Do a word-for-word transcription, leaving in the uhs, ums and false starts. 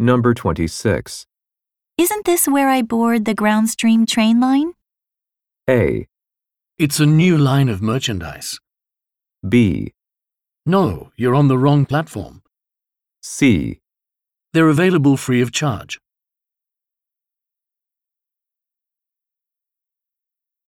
Number twenty-six. Isn't this where I board the Groundstream train line? A. It's a new line of merchandise. B. No, you're on the wrong platform. C. They're available free of charge.